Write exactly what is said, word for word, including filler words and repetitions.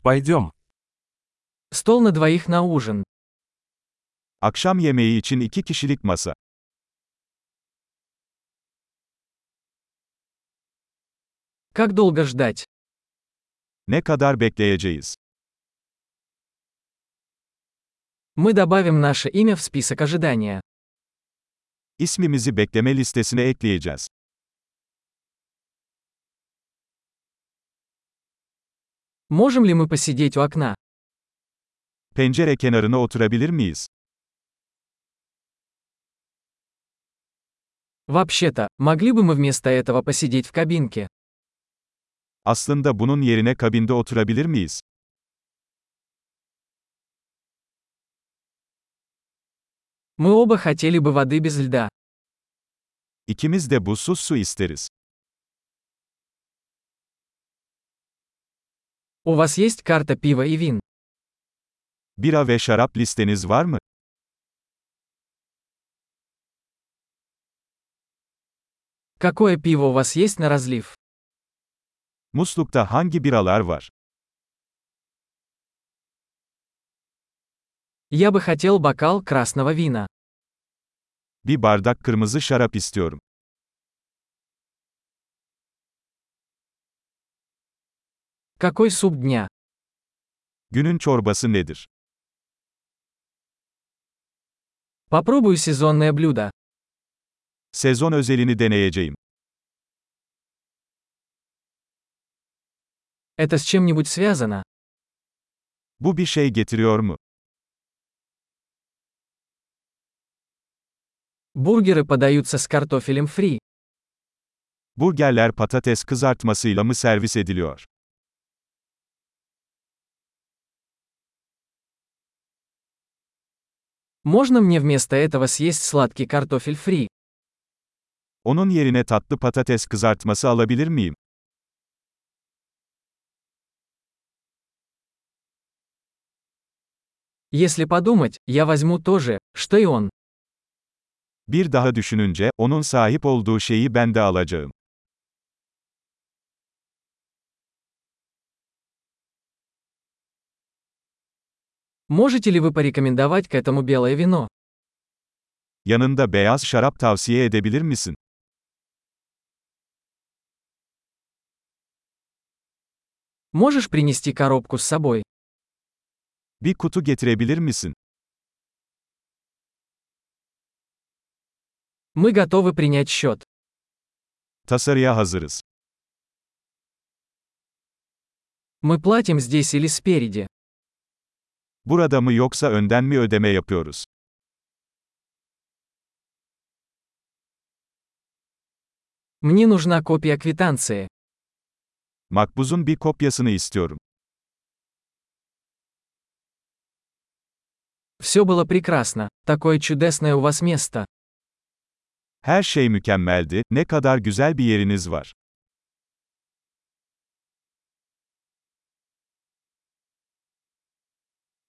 Пойдем. Стол на двоих на ужин. Akşam yemeği için iki kişilik masa. Как долго ждать? Ne kadar bekleyeceğiz? Мы добавим наше имя в список ожидания. İsmimizi bekleme listesine ekleyeceğiz. Можем ли мы посидеть у окна? Pencere kenarına oturabilir miyiz? Вообще-то, могли бы мы вместо этого посидеть в кабинке? Aslında bunun yerine kabinde oturabilir miyiz? Мы оба хотели бы воды без льда. İkimiz de buzsuz su isteriz. У вас есть карта пива и вин? Bira ve şarap listeniz var mı? Какое пиво у вас есть на разлив? Muslukta hangi biralar var? Я бы хотел бокал красного вина. Bir bardak kırmızı şarap istiyorum. Какой суп дня? Günün çorbası nedir? Попробую сезонное блюдо. Sezon özelini deneyeceğim. Это с чем-нибудь связано? Bu bir şey getiriyor mu? Бургеры подаются с картофелем фри. Burgerler patates kızartmasıyla mı servis ediliyor? Можно мне вместо этого съесть сладкий картофель фри? Onun yerine tatlı patates kızartması alabilir miyim? Если подумать, я возьму то же, что и он. Bir daha düşününce, onun sahip olduğu şeyi ben de alacağım. Можете ли вы порекомендовать к этому белое вино? Yanında beyaz şarap tavsiye edebilir misin? Можешь принести коробку с собой? Bir kutu getirebilir misin? Мы готовы принять счет. Tasarıya hazırız. Мы платим здесь или спереди? Burada mı yoksa önden mi ödeme yapıyoruz? Мне нужна копия квитанции. Makbuzun bir kopyasını istiyorum. Все было прекрасно. Такое чудесное у вас место. Her şey mükemmeldi, ne kadar güzel bir yeriniz var.